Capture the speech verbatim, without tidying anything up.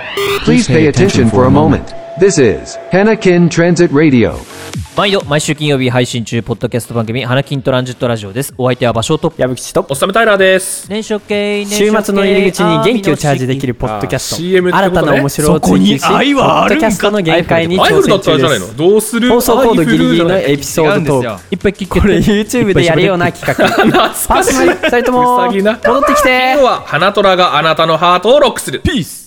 Please pay attention for a moment. This is Hanakin Transit Radio. 毎度毎週金曜日配信中ポッドキャスト番組花金トランジットラジオです。お相手は場所と矢吹とおっさめタイラーです。 年初系週末の入り口に元気をチャージできるポッドキャスト、 シーエム ってことね。 新たな面白を追求し、ポッドキャストの限界に挑戦中です。 どうする放送コードギリギリのエピソードトーク、 いっぱい聞けてこれ YouTube でやるような企画。パーソナリティふたりとも戻ってきて。 今日は花虎があなたのハートをロックする。ピース。